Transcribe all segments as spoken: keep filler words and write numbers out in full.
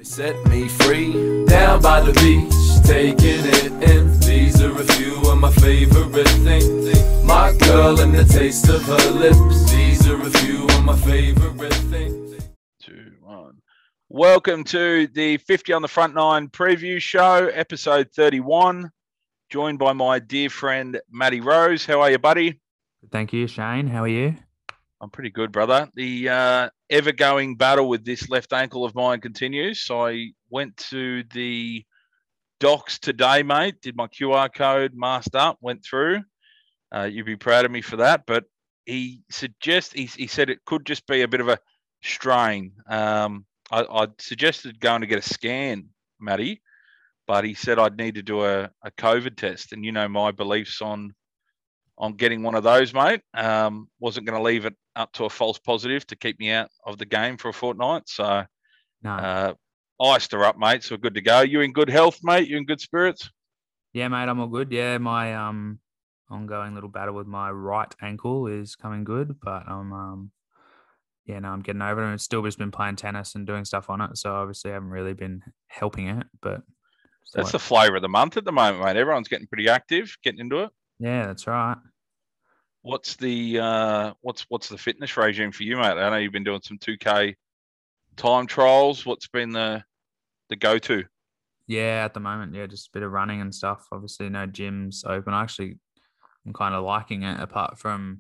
Set me free, down by the beach, taking it in. These are a few of my favorite things. My girl and the taste of her lips. These are a few of my favorite things. Two, one. Welcome to the fifty on the Front Nine preview show, episode thirty-one. Joined by my dear friend, Matty Rose. How are you, buddy? Thank you, Shane. How are you? I'm pretty good, brother. The uh, ever-going battle with this left ankle of mine continues. So I went to the docs today, mate, did my Q R code, masked up, went through. Uh, you'd be proud of me for that. But he suggest he, he said it could just be a bit of a strain. Um, I, I suggested going to get a scan, Matty, but he said I'd need to do a, a COVID test. And you know my beliefs on on getting one of those, mate. Um, wasn't going to leave it up to a false positive to keep me out of the game for a fortnight. So No. uh, iced her up, mate. So good to go. You in good health, mate? You in good spirits? Yeah, mate, I'm all good. Yeah, my um ongoing little battle with my right ankle is coming good, but I'm um yeah, no, I'm getting over it. And it's still just been playing tennis and doing stuff on it, so obviously I haven't really been helping it. But That's the flavour of the month at the moment, mate. Everyone's getting pretty active, getting into it. Yeah, that's right. What's the uh, what's what's the fitness regime for you, mate? I know you've been doing some two K time trials. What's been the the go to? Yeah, at the moment, yeah, just a bit of running and stuff. Obviously, no gyms open. Actually, I'm kind of liking it. Apart from,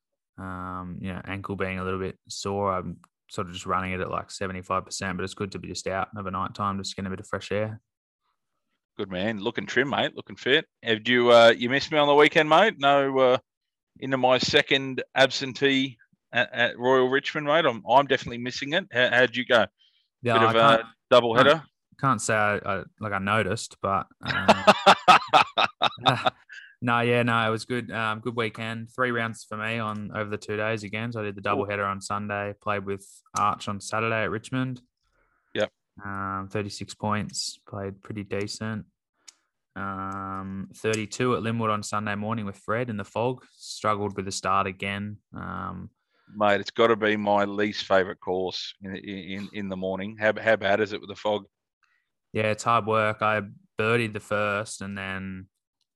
um, you know, ankle being a little bit sore, I'm sort of just running it at like seventy-five percent. But it's good to be just out overnight time, just getting a bit of fresh air. Good man, looking trim, mate. Looking fit. Have you uh, you missed me on the weekend, mate? No, uh, into my second absentee at, at Royal Richmond, mate. I'm I'm definitely missing it. How, how'd you go? Yeah, Bit of I a double header. Can't say I, I like I noticed, but uh, no, yeah, no, it was good. Um, good weekend. Three rounds for me on over the two days again. So I did the double header on Sunday. Played with Arch on Saturday at Richmond. Yep. Um, thirty-six points. Played pretty decent. Um, thirty-two at Linwood on Sunday morning with Fred in the fog. Struggled with the start again. Um, Mate, it's got to be my least favourite course in, in in the morning. How how bad is it with the fog? Yeah, it's hard work. I birdied the first, and then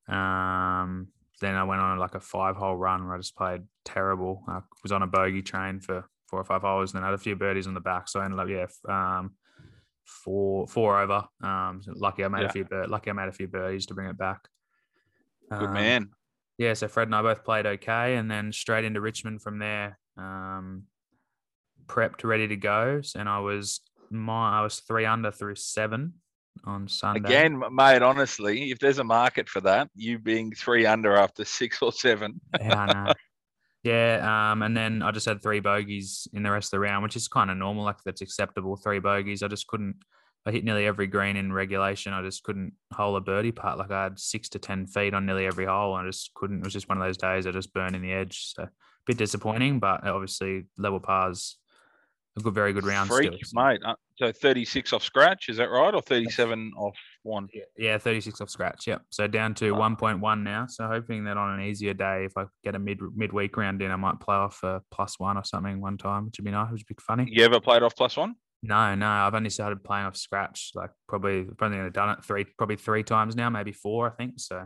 um, then I went on like a five-hole run where I just played terrible. I was on a bogey train for four or five holes, and then I had a few birdies on the back. So I ended up, yeah, um, four four over. Um, so lucky I made Yeah. a few bir- lucky I made a few birdies to bring it back. Good Um, man. Yeah, so Fred and I both played okay, and then straight into Richmond from there. Um, prepped, ready to go, and I was my I was three under through seven on Sunday. Again, mate, honestly, if there's a market for that, you being three under after six or seven. Yeah, I know. Yeah, um, and then I just had three bogeys in the rest of the round, which is kind of normal. Like that's acceptable. Three bogeys. I just couldn't. I hit nearly every green in regulation. I just couldn't hole a birdie putt. Like I had six to ten feet on nearly every hole. And I just couldn't. It was just one of those days. I just burned in the edge. So a bit disappointing, but obviously level pars. A good, very good round. Freak, still, so. mate. Uh, So thirty-six off scratch, is that right? Or thirty-seven off one? Yeah, thirty-six off scratch. Yep. So down to Oh. one point one now. So hoping that on an easier day, if I get a mid midweek round in, I might play off a plus one or something one time, which would be nice. Which would be funny. You ever played off plus one? No, no. I've only started playing off scratch. Like probably, probably only done it three, probably three times now, maybe four, I think. So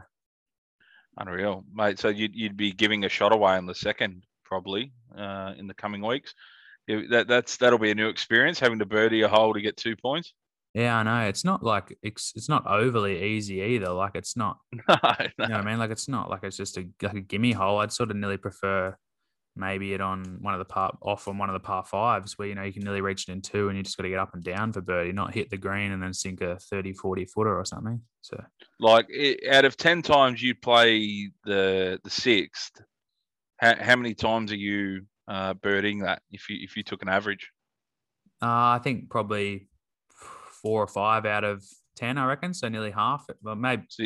Unreal, mate. So you'd, you'd be giving a shot away on the second, probably, uh, in the coming weeks. Yeah, that that's that'll be a new experience, having to birdie a hole to get two points. yeah, I know. It's not like it's it's not overly easy either. Like it's not. No, You know what I mean? Like it's not like it's just a like a gimme hole. I'd sort of nearly prefer maybe it on one of the par off on one of the par fives where you know you can nearly reach it in two and you just got to get up and down for birdie, not hit the green and then sink a thirty, forty footer or something. So like it, out of ten times you play the the sixth, how, how many times are you uh, birding that? If you if you took an average, uh, I think probably four or five out of ten, I reckon. So nearly half. Well, maybe. so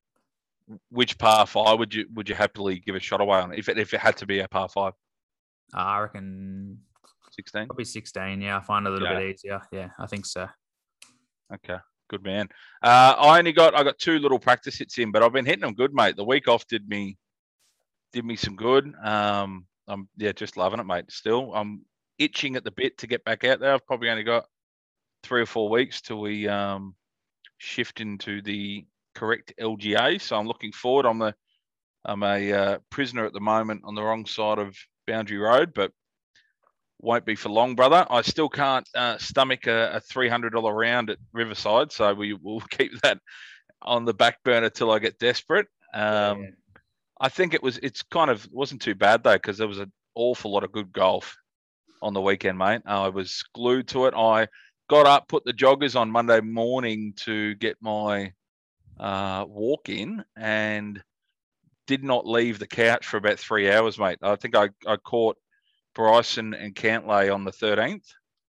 which par five would you would you happily give a shot away on if it if it had to be a par five? Uh, I reckon sixteen. probably sixteen. Yeah, I find it a little Yeah. bit easier. Yeah, I think so. Okay, good man. Uh, I only got I got two little practice hits in, but I've been hitting them good, mate. The week off did me did me some good. Um, I'm yeah, just loving it, mate. Still, I'm itching at the bit to get back out there. I've probably only got three or four weeks till we um, shift into the correct L G A. So I'm looking forward. I'm a I'm a uh, prisoner at the moment on the wrong side of Boundary Road, but won't be for long, brother. I still can't uh, stomach a, a three hundred dollars round at Riverside, so we will keep that on the back burner till I get desperate. Um, yeah. I think it was. It's kind of wasn't too bad though, because there was an awful lot of good golf on the weekend, mate. I was glued to it. I got up, put the joggers on Monday morning to get my uh, walk in, and did not leave the couch for about three hours, mate. I think I, I caught Bryson and Cantlay on the thirteenth,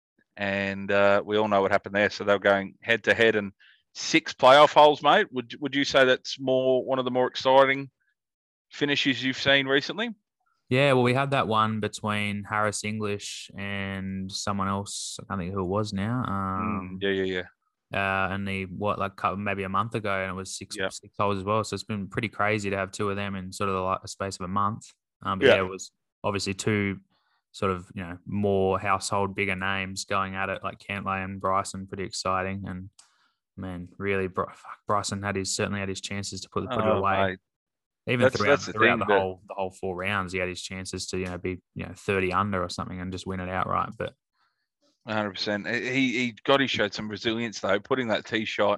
and uh, we all know what happened there. So they were going head to head, and six playoff holes, mate. Would would you say that's more one of the more exciting finishes you've seen recently? Yeah, well, we had that one between Harris English and someone else. I can't think who it was now. Um, mm, yeah, yeah, yeah. Uh, and the what like maybe a month ago, and it was six yep. six holes as well. So it's been pretty crazy to have two of them in sort of the like, space of a month. Um, but yeah. yeah, it was obviously two sort of you know more household bigger names going at it, like Cantlay and Bryson. Pretty exciting, and man, really, Bryson had his certainly had his chances to put put oh, it away. Mate. Even that's, throughout, that's the, throughout thing, the whole the whole four rounds, he had his chances to you know be you know thirty under or something and just win it outright. But one hundred percent. He he got he showed some resilience though, putting that tee shot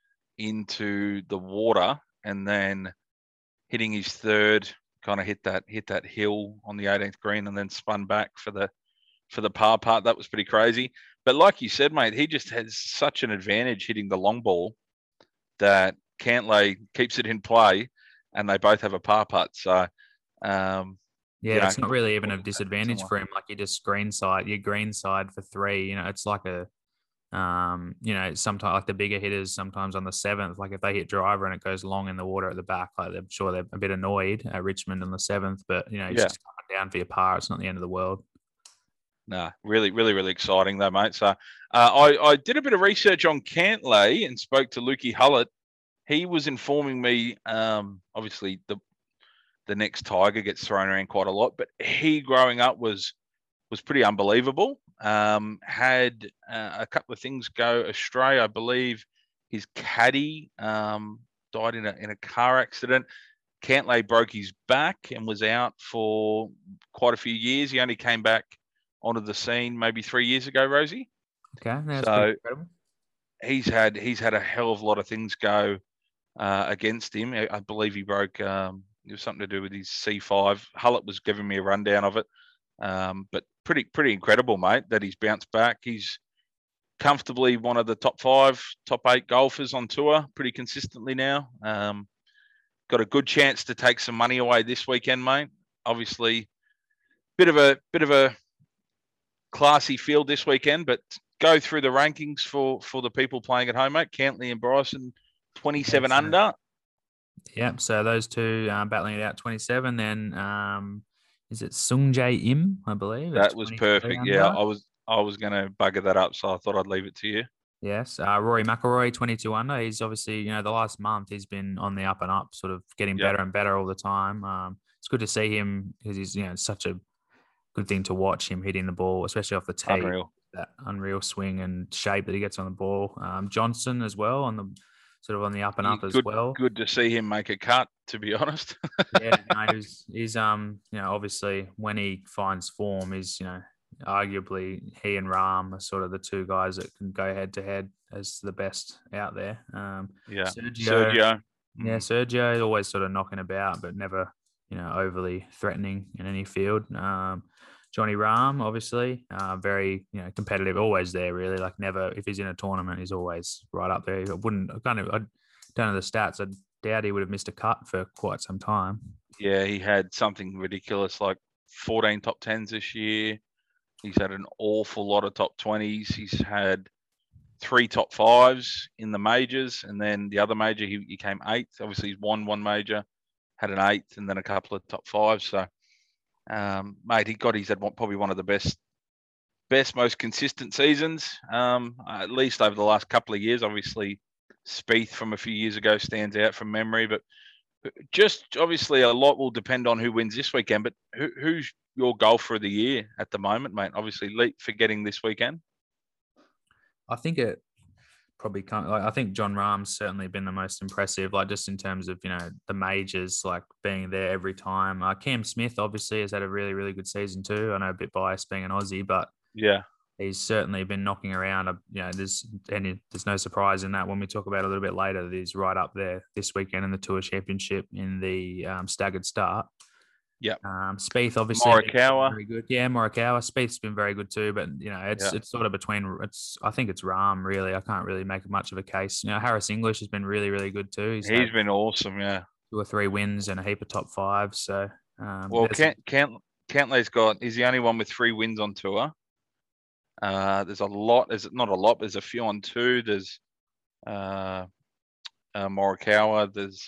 into the water and then hitting his third, kind of hit that hit that hill on the eighteenth green and then spun back for the for the par part. That was pretty crazy. But like you said, mate, he just has such an advantage hitting the long ball that Cantlay keeps it in play. And they both have a par putt, so um, yeah, you know, it's not really even a disadvantage for him. Like you just green side, your green side for three. You know, it's like a, um, you know, sometimes like the bigger hitters, sometimes on the seventh, like if they hit driver and it goes long in the water at the back, like I'm sure they're a bit annoyed at Richmond on the seventh. But you know, it's yeah. just coming down for your par. It's not the end of the world. No, really, really, really exciting though, mate. So uh, I I did a bit of research on Cantlay and spoke to Lukey Hullett. He was informing me, um, obviously the the next Tiger gets thrown around quite a lot, but he growing up was was pretty unbelievable. Um, had uh, a couple of things go astray. I believe his caddy um, died in a in a car accident. Cantlay broke his back and was out for quite a few years. He only came back onto the scene maybe three years ago, Rosie. Okay, that's so incredible. He's had he's had a hell of a lot of things go Uh, against him. I believe he broke, um, it was something to do with his C five. Hullett was giving me a rundown of it. Um, but pretty, pretty incredible, mate, that he's bounced back. He's comfortably one of the top five, top eight golfers on tour pretty consistently now. Um, got a good chance to take some money away this weekend, mate. Obviously, bit of a bit of a classy field this weekend, but go through the rankings for, for the people playing at home, mate. Cantlay and Bryson, twenty-seven That's under. Yep. So those two uh, battling it out twenty-seven. Then um, is it Sung Jae Im? I believe that was perfect. Under. Yeah, I was I was going to bugger that up, so I thought I'd leave it to you. Yes. Uh, Rory McIlroy, twenty-two under. He's obviously you know the last month he's been on the up and up, sort of getting yep. better and better all the time. Um, it's good to see him because he's you know such a good thing to watch him hitting the ball, especially off the tee. Unreal. That unreal swing and shape that he gets on the ball. Um, Johnson as well on the. Sort of on the up and up good, as well. Good to see him make a cut, to be honest. yeah, no, he's, he's um, you know, obviously when he finds form, he's you know, arguably he and Rahm are sort of the two guys that can go head to head as the best out there. Um, yeah, Sergio, Sergio. yeah, Sergio is always sort of knocking about, but never you know overly threatening in any field. Um, Johnny Rahm, obviously, uh, very you know competitive, always there. Really, like never. If he's in a tournament, he's always right up there. I wouldn't I kind of I don't know the stats. I doubt he would have missed a cut for quite some time. Yeah, he had something ridiculous like fourteen top tens this year. He's had an awful lot of top twenties. He's had three top fives in the majors, and then the other major he, he came eighth. Obviously, he's won one major, had an eighth, and then a couple of top fives. So. Um, mate, he got he's had one, probably one of the best, best, most consistent seasons, um, at least over the last couple of years. Obviously, Spieth from a few years ago stands out from memory, but just obviously a lot will depend on who wins this weekend. But who, who's your golfer of the year at the moment, mate? Obviously, Leap for getting this weekend. I think it probably can't. Like, I think John Rahm's certainly been the most impressive, like just in terms of, you know, the majors, like being there every time. Uh, Cam Smith obviously has had a really, really good season too. I know a bit biased being an Aussie, but Yeah. he's certainly been knocking around. uh, You know, there's and it- there's no surprise in that when we talk about it a little bit later. That he's right up there this weekend in the Tour Championship in the um, staggered start. Yep. Um, Spieth obviously been Morikawa. very good. Yeah, Morikawa. Spieth's been very good too, but you know, it's Yeah. it's sort of between. It's I think it's Rahm really. I can't really make much of a case. You know, Harris English has been really, really good too. He's, He's had been awesome, yeah. two or three wins and a heap of top fives. So um, Well, there's- Cant, Cant, Cantley's got, he's the only one with three wins on tour. Uh, there's a lot, there's not a lot, there's a few on two. There's uh, uh, Morikawa, there's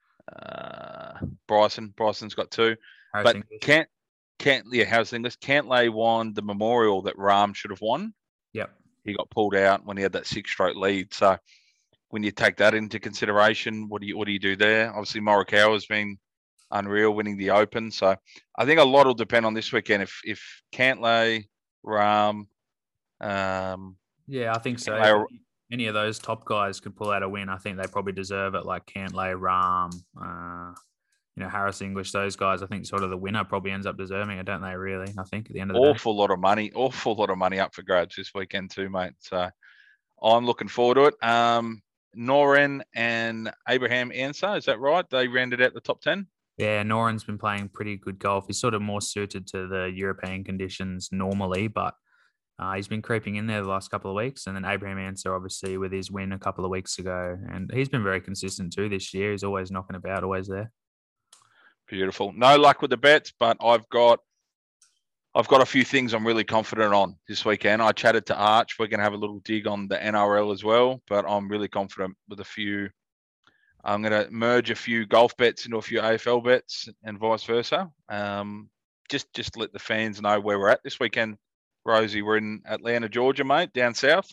uh, Bryson. Bryson's got two. Harris But English. Cant, Cant, yeah, how's English? Cantlay won the Memorial that Rahm should have won. Yep. He got pulled out when he had that six-stroke lead. So when you take that into consideration, what do you what do you do there? Obviously, Morikawa has been unreal, winning the Open. So I think a lot will depend on this weekend. If if Cantlay, Rahm, um, Yeah, I think so. Cantlay, If any of those top guys could pull out a win, I think they probably deserve it. Like Cantlay, Rahm, uh, you know, Harris English, those guys. I think sort of the winner probably ends up deserving it, don't they? Really, I think at the end of the day. awful lot of money, awful lot of money up for grabs this weekend too, mate. So I'm looking forward to it. Um, Noren and Abraham Ansah, is that right? They rounded out the top ten. Yeah, Noren's been playing pretty good golf. He's sort of more suited to the European conditions normally, but uh, he's been creeping in there the last couple of weeks. And then Abraham Ansah, obviously, with his win a couple of weeks ago. And he's been very consistent too this year. He's always knocking about, always there. Beautiful. No luck with the bets, but I've got I've got a few things I'm really confident on this weekend. I chatted to Arch. We're going to have a little dig on the N R L as well, but I'm really confident with a few. I'm going to merge a few golf bets into a few A F L bets and vice versa. Um, just just let the fans know where we're at this weekend. Rosie, we're in Atlanta, Georgia, mate, down south.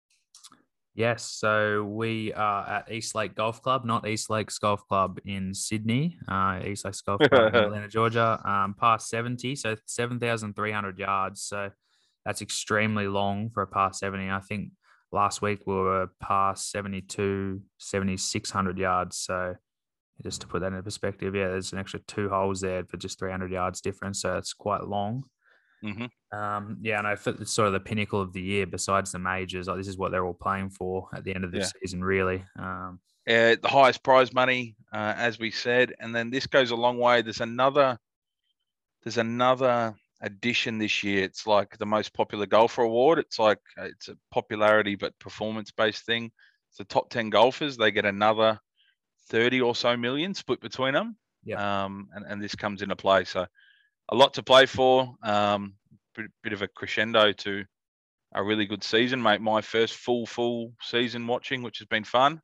Yes, so we are at East Lake Golf Club, not East Lakes Golf Club in Sydney. Uh, East Lakes Golf Club in Atlanta, Georgia, um, past seventy, so seven thousand three hundred yards. So that's extremely long for a past seventy. I think last week we were past seventy-two, seventy-six hundred yards. So just to put that into perspective, yeah, there's an extra two holes there for just three hundred yards difference. So it's quite long. Mm-hmm. Um, yeah, and I feel it's sort of the pinnacle of the year besides the majors. Like this is what they're all playing for at the end of the Yeah. season, really. Um, Uh, the highest prize money, uh, as we said, and then this goes a long way. There's another, there's another addition this year. It's like the most popular golfer award. It's like uh, it's a popularity but performance based thing. It's the top ten golfers. They get another thirty or so million split between them. Yeah. Um, and and this comes into play. So a lot to play for. Um, bit, bit of a crescendo to a really good season, mate. My first full full season watching, which has been fun.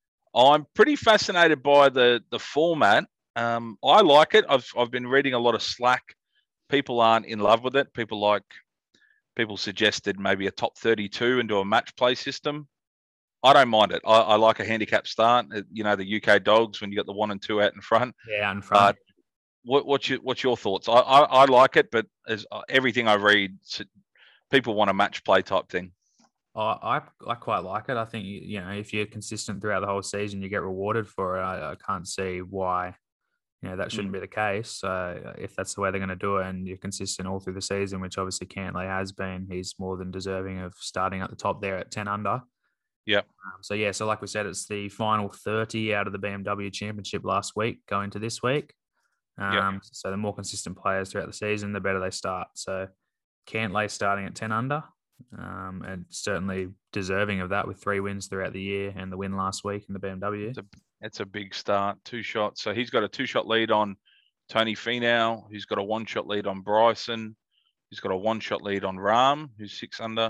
I'm pretty fascinated by the the format. Um, I like it. I've I've been reading a lot of slack. People aren't in love with it. People like people suggested maybe a top thirty-two and do a match play system. I don't mind it. I, I like a handicap start. Uh, You know, the U K dogs when you got the one and two out in front. yeah, in front. But what what's your what's your thoughts? I I, I like it, but as uh, everything I read, s- people want a match play type thing. I, I I quite like it. I think you you know if you're consistent throughout the whole season, you get rewarded for it. I, I can't see why you know that shouldn't be the case. Uh, if that's the way they're going to do it, and you're consistent all through the season, which obviously Cantlay has been, he's more than deserving of starting at the top there at ten under. Yep. Um, so yeah, so like we said, it's the final thirty out of the B M W Championship last week going to this week. Um, Yep. So the more consistent players throughout the season, the better they start. So Cantlay starting at ten under, um, and certainly deserving of that with three wins throughout the year and the win last week in the B M W. It's a, it's a big start, two shots. So he's got a two shot lead on Tony Finau, who's got a one shot lead on Bryson, who's got a one shot lead on Rahm, who's six under.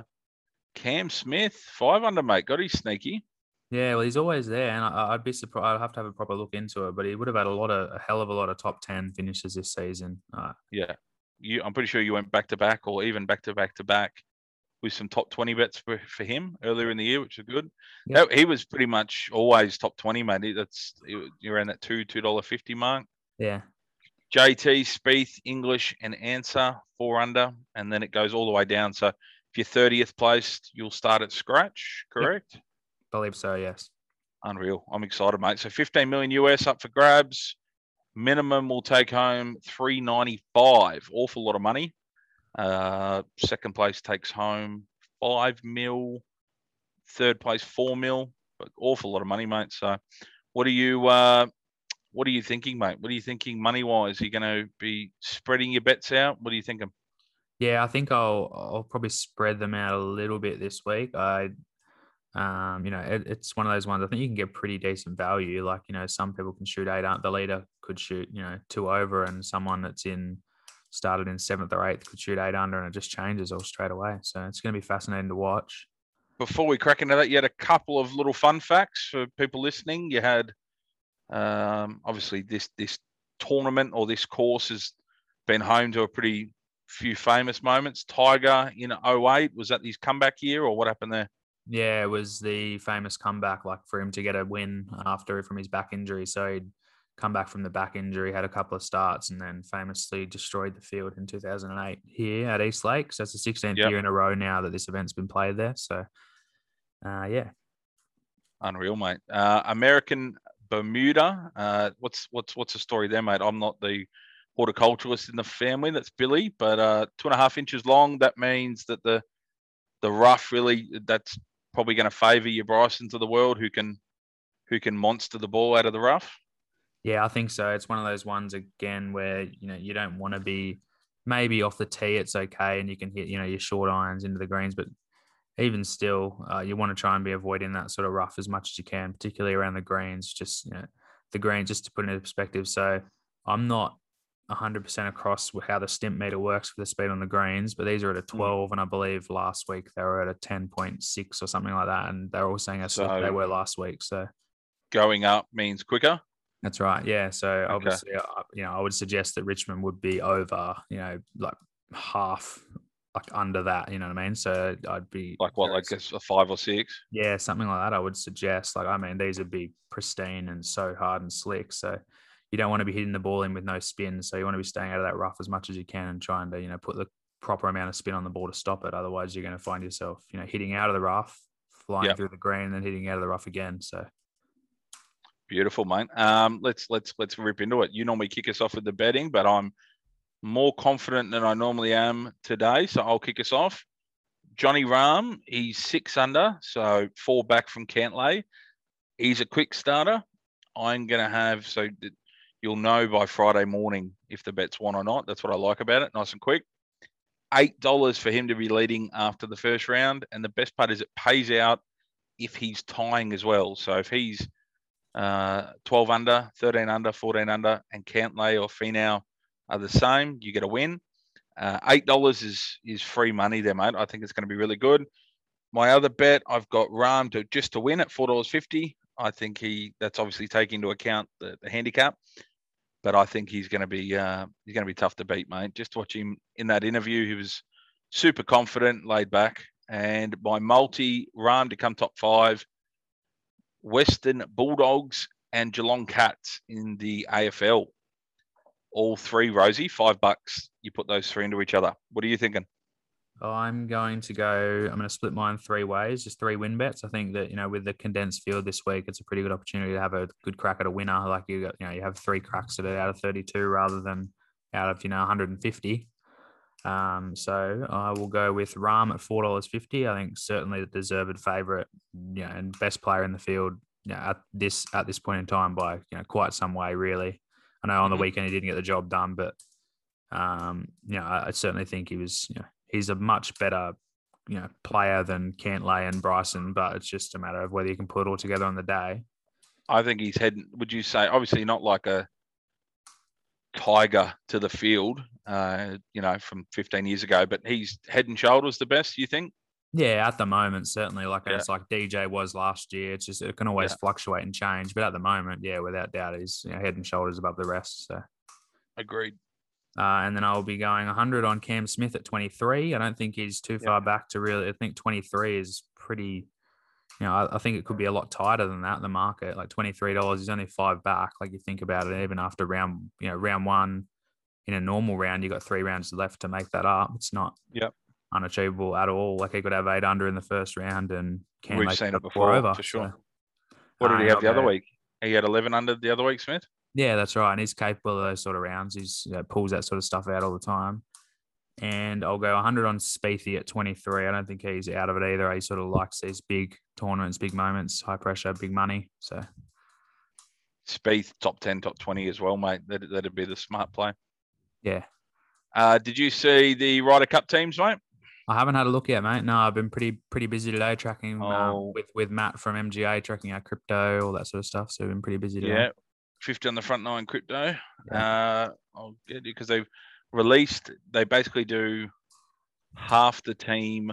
Cam Smith, five under, mate. Got his sneaky. Yeah, well, he's always there, and I, I'd be surprised. I'd have to have a proper look into it, but he would have had a lot of a hell of a lot of top ten finishes this season. Uh, Yeah. You, I'm pretty sure you went back to back or even back to back to back with some top twenty bets for, for him earlier in the year, which is good. Yep. That- he was pretty much always top twenty, mate. He- That's you're around that two, two dollar fifty mark. yeah, J T, Spieth, English, and Answer four under, and then it goes all the way down. So if if you're thirtieth placed, you'll start at scratch, correct? Yep. Believe so, yes. Unreal. I'm excited, mate. So fifteen million U S up for grabs. Minimum will take home three ninety-five. Awful lot of money. Uh, second place takes home five mil. Third place four mil. But awful lot of money, mate. So, what are you? Uh, what are you thinking, mate? What are you thinking money wise? Are you going to be spreading your bets out? What are you thinking? Yeah, I think I'll I'll probably spread them out a little bit this week. I, um, you know, it, it's one of those ones. I think you can get pretty decent value. Like, you know, some people can shoot eight. The leader could shoot, you know, two over, and someone that's in started in seventh or eighth could shoot eight under, and it just changes all straight away. So it's going to be fascinating to watch. Before we crack into that, you had a couple of little fun facts for people listening. You had, um, obviously, this this tournament or this course has been home to a pretty few famous moments. Tiger in oh eight, was that his comeback year, or what happened there? Yeah, it was the famous comeback, like for him to get a win after from his back injury. So he'd come back from the back injury, had a couple of starts, and then famously destroyed the field in two thousand eight here at East Lake. So it's the sixteenth yep. year in a row now that this event's been played there. So, uh, yeah. Unreal, mate. Uh, American Bermuda. Uh, what's what's what's the story there, mate? I'm not the horticulturalist in the family. That's Billy, but uh, two and a half inches long. That means that the the rough really, that's probably going to favour your Brysons of the world who can who can monster the ball out of the rough. Yeah, I think so. It's one of those ones again where, you know, you don't want to be maybe off the tee. It's okay, and you can hit, you know, your short irons into the greens, but even still, uh, you want to try and be avoiding that sort of rough as much as you can, particularly around the greens. Just, you know, the greens, just to put it into perspective. So I'm not one hundred percent across how the stimp meter works for the speed on the greens, but these are at a twelve, mm. and I believe last week they were at a ten point six or something like that, and they're all saying as so they were last week. So going up means quicker. That's right. Yeah. So okay. obviously, uh, you know, I would suggest that Richmond would be over, you know, like half, like under that. You know what I mean? So I'd be like what, like a five or six? Yeah, something like that. I would suggest. Like, I mean, these would be pristine and so hard and slick. So you don't want to be hitting the ball in with no spin. So you want to be staying out of that rough as much as you can and trying to, you know, put the proper amount of spin on the ball to stop it. Otherwise, you're going to find yourself, you know, hitting out of the rough, flying yep. through the green, and then hitting out of the rough again. So. Beautiful, mate. Um, let's let's let's rip into it. You normally kick us off with the betting, but I'm more confident than I normally am today, so I'll kick us off. Johnny Rahm, he's six under, so four back from Cantlay. He's a quick starter. I'm going to have, so that you'll know by Friday morning if the bet's won or not. That's what I like about it, nice and quick. eight dollars for him to be leading after the first round, and the best part is it pays out if he's tying as well. So if he's Uh, twelve under, thirteen under, fourteen under, and Cantlay or Finau are the same, you get a win. Uh, eight dollars is is free money there, mate. I think it's going to be really good. My other bet, I've got Rahm to just to win at four dollars fifty. I think he that's obviously taking into account the, the handicap, but I think he's going to be uh, he's going to be tough to beat, mate. Just watch him in that interview. He was super confident, laid back. And my multi, Rahm to come top five. Western Bulldogs and Geelong Cats in the A F L. All three, Rosie, five bucks. You put those three into each other. What are you thinking? I'm going to go, I'm going to split mine three ways, just three win bets. I think that, you know, with the condensed field this week, it's a pretty good opportunity to have a good crack at a winner. Like you got, you know, you have three cracks at it out of thirty-two rather than out of, you know, one hundred fifty. Um, so I will go with Rahm at four dollars fifty. I think certainly the deserved favourite, you know, and best player in the field, you know, at this at this point in time by, you know, quite some way, really. I know on the weekend he didn't get the job done, but um, you know, I, I certainly think he was, you know, he's a much better, you know, player than Cantlay and Bryson, but it's just a matter of whether you can put it all together on the day. I think he's heading, would you say, obviously not like a Tiger to the field, uh, you know, from fifteen years ago, but he's head and shoulders the best, you think? Yeah, at the moment, certainly. Like yeah. It's like D J was last year. It's just, it can always yeah. fluctuate and change. But at the moment, yeah, without doubt, he's, you know, head and shoulders above the rest. So, agreed. Uh, and then I'll be going one hundred on Cam Smith at twenty-three. I don't think he's too yeah. far back to really, I think twenty-three is pretty, you know, I, I think it could be a lot tighter than that in the market. Like twenty-three dollars is only five back. Like you think about it, even after round, you know, round one in a normal round, you got three rounds left to make that up. It's not, yep. unachievable at all. Like he could have eight under in the first round, and can We've they seen could it have four before, over for sure. So, What did uh, he have I'll the other go- week? He had eleven under the other week, Smith. Yeah, that's right. And he's capable of those sort of rounds. He's you know, pulls that sort of stuff out all the time. And I'll go one hundred on Spiethy at twenty-three. I don't think he's out of it either. He sort of likes these big tournaments, big moments, high pressure, big money. So Spieth, top ten, top twenty as well, mate. That, that'd be the smart play. yeah, Uh, did you see the Ryder Cup teams, mate? I haven't had a look yet, mate. No, I've been pretty pretty busy today tracking Oh. um, with with Matt from M G A, tracking our crypto, all that sort of stuff. So I've been pretty busy today. Yeah, fifty on the front nine crypto. Uh, I'll get it because they've released. They basically do half the team,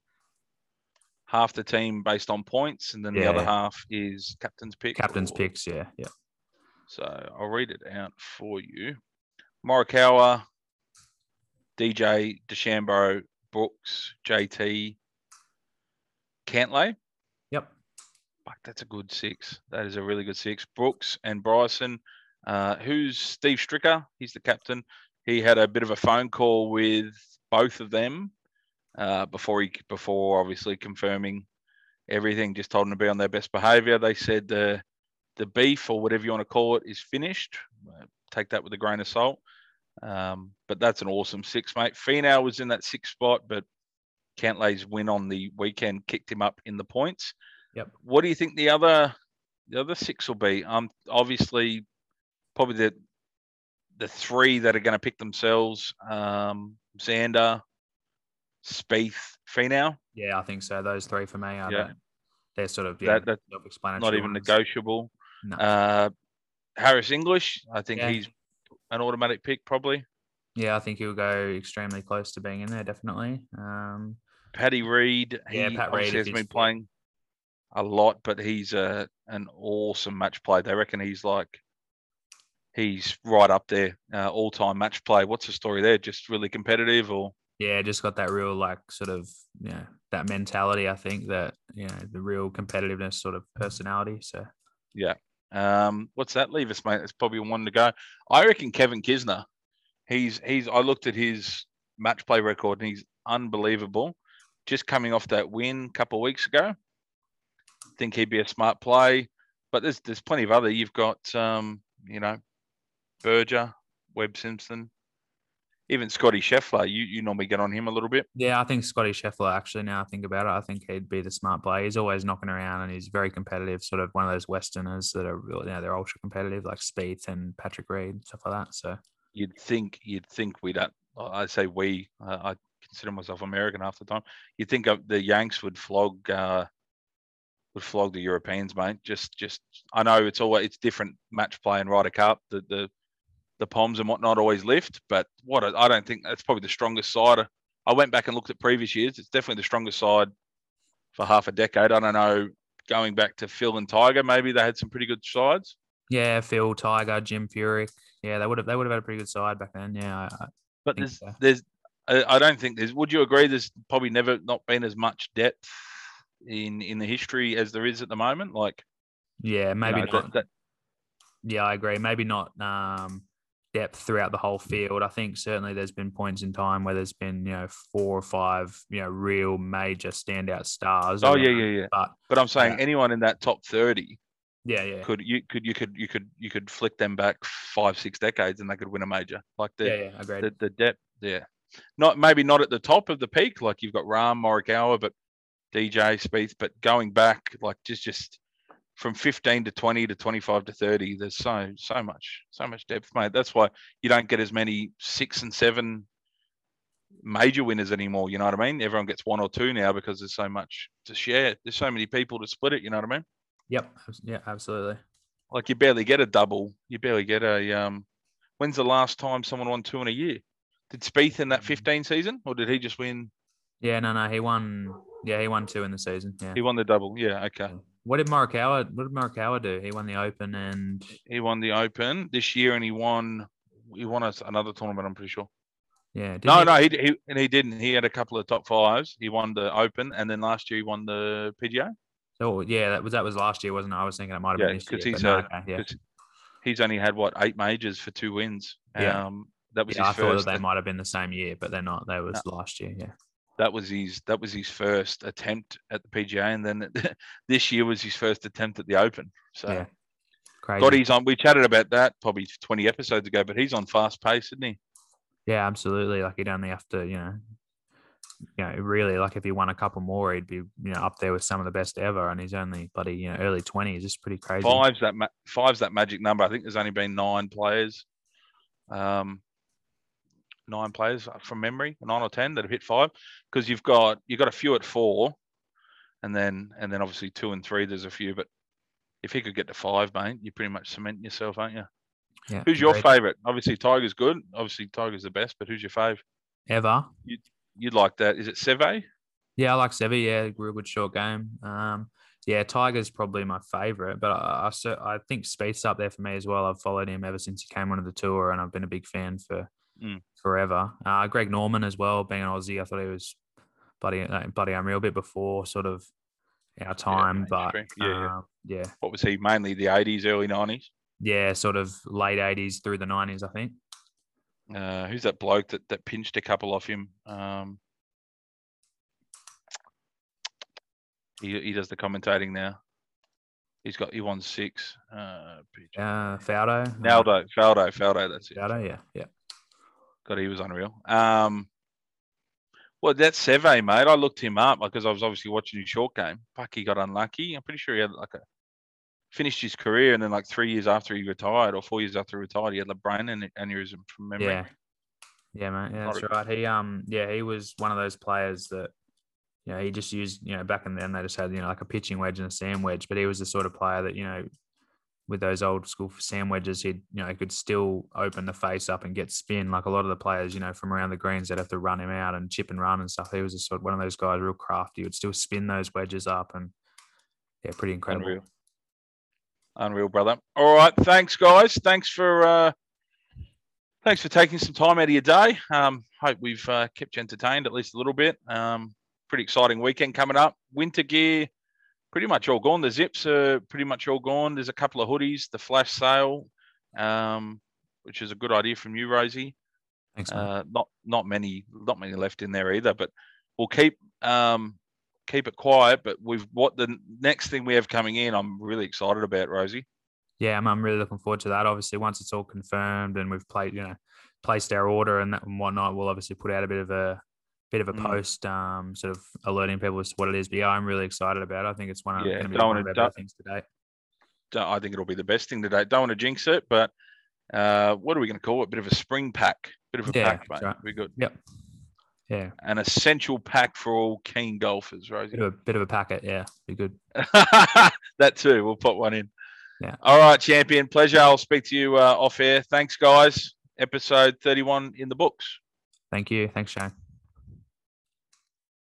half the team based on points, and then the Yeah, other yeah. half is captain's pick. Captain's or- picks, yeah, yeah. So I'll read it out for you. Morikawa, D J, DeChambeau, Brooks, J T, Cantlay. Yep. Fuck, that's a good six. That is a really good six. Brooks and Bryson. Uh, who's Steve Stricker? He's the captain. He had a bit of a phone call with both of them uh, before he before obviously confirming everything. Just told them to be on their best behaviour. They said the the beef or whatever you want to call it is finished. Uh, take that with a grain of salt. Um, but that's an awesome six, mate. Finau was in that sixth spot, but Cantlay's win on the weekend kicked him up in the points. Yep. What do you think the other the other six will be? Um, obviously, probably the the three that are going to pick themselves: um, Xander, Spieth, Finau. Yeah, I think so. Those three for me are Yeah. the- they're sort of yeah, That that's self-explanatory. not even ones. negotiable. No. Uh, Harris English, I think Yeah. he's an automatic pick probably. Yeah, I think he'll go extremely close to being in there, definitely. Um, Paddy Reed, Yeah, he Pat Reed, obviously if has he's been fit. playing a lot, but he's a an awesome match play. They reckon he's like he's right up there, uh, all time match play. What's the story there? Just really competitive, or yeah, just got that real like sort of you know, that mentality. I think that you know the real competitiveness sort of personality. So um, what's that leave us, mate? It's probably one to go. I reckon Kevin Kisner. He's he's. I looked at his match play record, and he's unbelievable. Just coming off that win a couple of weeks ago. Think he'd be a smart play, but there's there's plenty of other. You've got um, you know, Berger, Webb Simpson, even Scotty Scheffler. You you normally get on him a little bit. yeah, I think Scotty Scheffler. Actually, now I think about it, I think he'd be the smart play. He's always knocking around, and he's very competitive. Sort of one of those Westerners that are real, you know, they're ultra competitive, like Spieth and Patrick Reed, stuff like that. So You'd think you'd think we don't. I say we. Uh, I consider myself American half the time. You'd think of the Yanks would flog uh, would flog the Europeans, mate. Just just I know it's always it's different match play and Ryder Cup. The the the Poms and whatnot always lift, but what I don't think that's probably the strongest side. I went back and looked at previous years. It's definitely the strongest side for half a decade. I don't know. Going back to Phil and Tiger, maybe they had some pretty good sides. yeah, Phil, Tiger, Jim Furyk. Yeah, they would have they would have had a pretty good side back then. Yeah, I, I But think there's so. there's I I don't think there's. Would you agree? There's probably never not been as much depth in in the history as there is at the moment. Like yeah, you maybe know, not. that, that Yeah, I agree. Maybe not um, depth throughout the whole field. I think certainly there's been points in time where there's been, you know, four or five, you know, real major standout stars. oh yeah around. yeah yeah. But But I'm saying Yeah. anyone in that top thirty yeah, yeah, could you could you could you could you could flick them back five six decades and they could win a major. Like the yeah, yeah, agreed. the, the depth there. Not maybe not at the top of the peak, like you've got Rahm, Morikawa, but D J, Spieth, but going back, like just just from fifteen to twenty to twenty-five to thirty, there's so so much so much depth, mate. That's why you don't get as many six and seven major winners anymore. You know what I mean? Everyone gets one or two now because there's so much to share. There's so many people to split it. You know what I mean? Yep. Yeah, absolutely. Like you barely get a double. You barely get a um. When's the last time someone won two in a year? Did Spieth in that fifteen season, or did he just win? Yeah, no, no, he won. Yeah, he won two in the season. Yeah. He won the double. Yeah, okay. What did Morikawa? What did Morikawa do? He won the Open and He won the Open this year, and he won. He won us another tournament. I'm pretty sure. yeah. didn't No, he- no, he, he and he didn't. He had a couple of top fives. He won the Open, and then last year he won the P G A. Oh, yeah, that was that was last year, wasn't it? I was thinking it might have Yeah, been this year. because he's but no, uh, okay, yeah. 'cause he's only had what eight majors for two wins. Yeah. Um, that was Yeah, I his thought first. that they might have been the same year, but they're not. That was last year. Yeah. that was his that was his first attempt at the P G A, and then this year was his first attempt at the Open. So, Yeah. Crazy. God, he's on. We chatted about that probably twenty episodes ago, but he's on fast pace, isn't he? Yeah, absolutely. Like he'd only have to, you know, you know, really, like if he won a couple more, he'd be, you know, up there with some of the best ever. And he's only bloody, you know, early twenties. It's pretty crazy. Five's that ma- five's that magic number. I think there's only been nine players, um, nine players from memory, nine or ten that have hit five. Because you've got you've got a few at four, and then and then obviously two and three. There's a few, but if he could get to five, mate, you pretty much cement yourself, aren't you? Yeah. Who's your great. favourite? Obviously, Tiger's good. Obviously, Tiger's the best. But who's your fave? Ever? You'd, you'd like that? Is it Seve? Yeah, I like Seve. Yeah, real good short game. Um, yeah, Tiger's probably my favourite, but I, I, I think Spieth's up there for me as well. I've followed him ever since he came onto the tour, and I've been a big fan for Mm. forever. Uh, Greg Norman as well, being an Aussie, I thought he was bloody, uh, bloody unreal. A bit before sort of our time, Yeah, but mainstream. Yeah, yeah. uh, yeah, What was he? Mainly the eighties, early nineties. yeah, sort of late eighties through the nineties, I think. Uh, who's that bloke that, that pinched a couple off him? Um, he he does the commentating now. He's got he won six. Uh, Uh, Faldo. Faldo, Faldo, Faldo. That's it. Faldo, yeah, yeah. God, he was unreal. Um, well, that's Seve, mate. I looked him up because I was obviously watching his short game. Fuck, he got unlucky. I'm pretty sure he had like a finished his career, and then like three years after he retired, or four years after he retired, he had a brain aneurysm from memory. Yeah, yeah, mate. Yeah, that's Not right. He um, yeah, he was one of those players that, you know, he just used, you know, back in then they just had, you know, like a pitching wedge and a sand wedge, but he was the sort of player that, you know, with those old school sand wedges, he'd, you know, he could still open the face up and get spin. Like a lot of the players, you know, from around the greens, they'd have to run him out and chip and run and stuff. He was a sort of one of those guys, real crafty. He would still spin those wedges up, and yeah, pretty incredible. Unreal. Unreal, brother. All right. Thanks, guys. Thanks for uh, thanks for taking some time out of your day. Um, hope we've uh, kept you entertained at least a little bit. Um, pretty exciting weekend coming up. Winter gear, pretty much all gone. The zips are pretty much all gone. There's a couple of hoodies, the flash sale, um, which is a good idea from you, Rosie. Thanks, man. Uh, not not many not many left in there either, but we'll keep um, keep it quiet. But we've what the next thing we have coming in, I'm really excited about, Rosie. Yeah, I'm, I'm really looking forward to that. Obviously, once it's all confirmed and we've played, you know, placed our order and that and whatnot, we'll obviously put out a bit of a bit of a Mm. post, um, sort of alerting people as to what it is. But yeah, I'm really excited about it. I think it's one of, Yeah, going to be don't one wanna- of our don't- better things today. Don't- I think it'll be the best thing today. Don't want to jinx it, but uh, what are we going to call it? Bit of a spring pack, bit of a Yeah, pack, mate. that's right. Be good. Yep. Yeah, An essential pack for all keen golfers, Rosie. bit of a bit of a packet. Yeah, be good. That too. We'll put one in. Yeah. All right, champion. Pleasure. I'll speak to you uh, off air. Thanks, guys. Episode thirty-one in the books. Thank you. Thanks, Shane.